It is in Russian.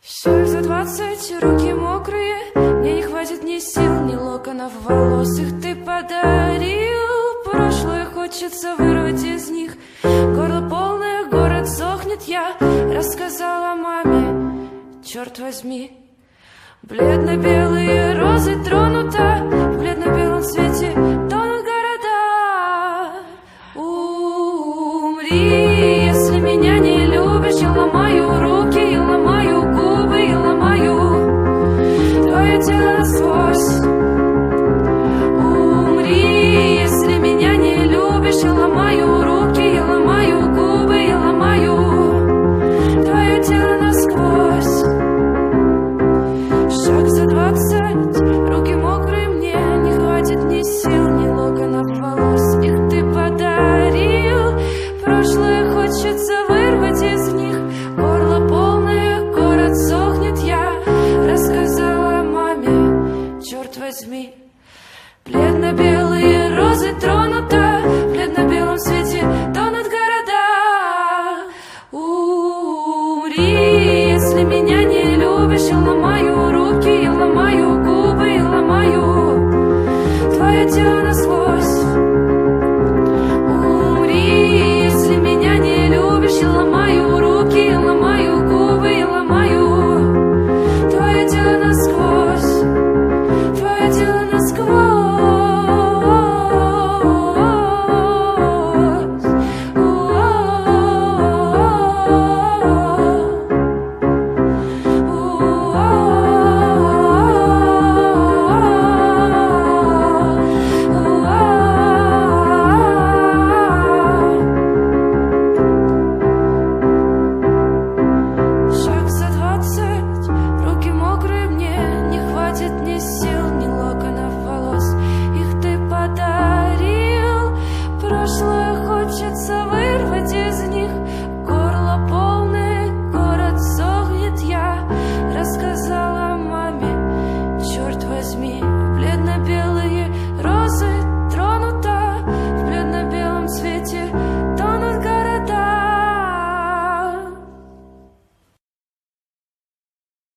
Шаг за 20, руки мокрые, мне не хватит ни сил, ни локонов волос. Их ты подарил, прошлое хочется вырвать из них. Горло полное, город сохнет, я рассказала маме, черт возьми. Бледно-белые розы тронута, в бледно-белом свете тонут города. Умри, если меня не любишь, я ломаю руки, я ломаю губы, я ломаю твое тело насквозь. Умри, если меня не любишь, я ломаю руки, я ломаю губы, я ломаю твое тело насквозь. Шаг за 20, руки мокрые, мне не хватит ни сил, ни локонов волос. Их ты подарил, прошлое хочется вырвать из них. Горло полное, город сохнет, я рассказала маме, черт возьми. Бледно-белые розы тронута, в бледно-белом свете тонут города. Умри, если меня не любишь, я ломаю руки, я ломаю губы, я ломаю твое тело насквозь. Умри, если меня не любишь, я ломаю руки.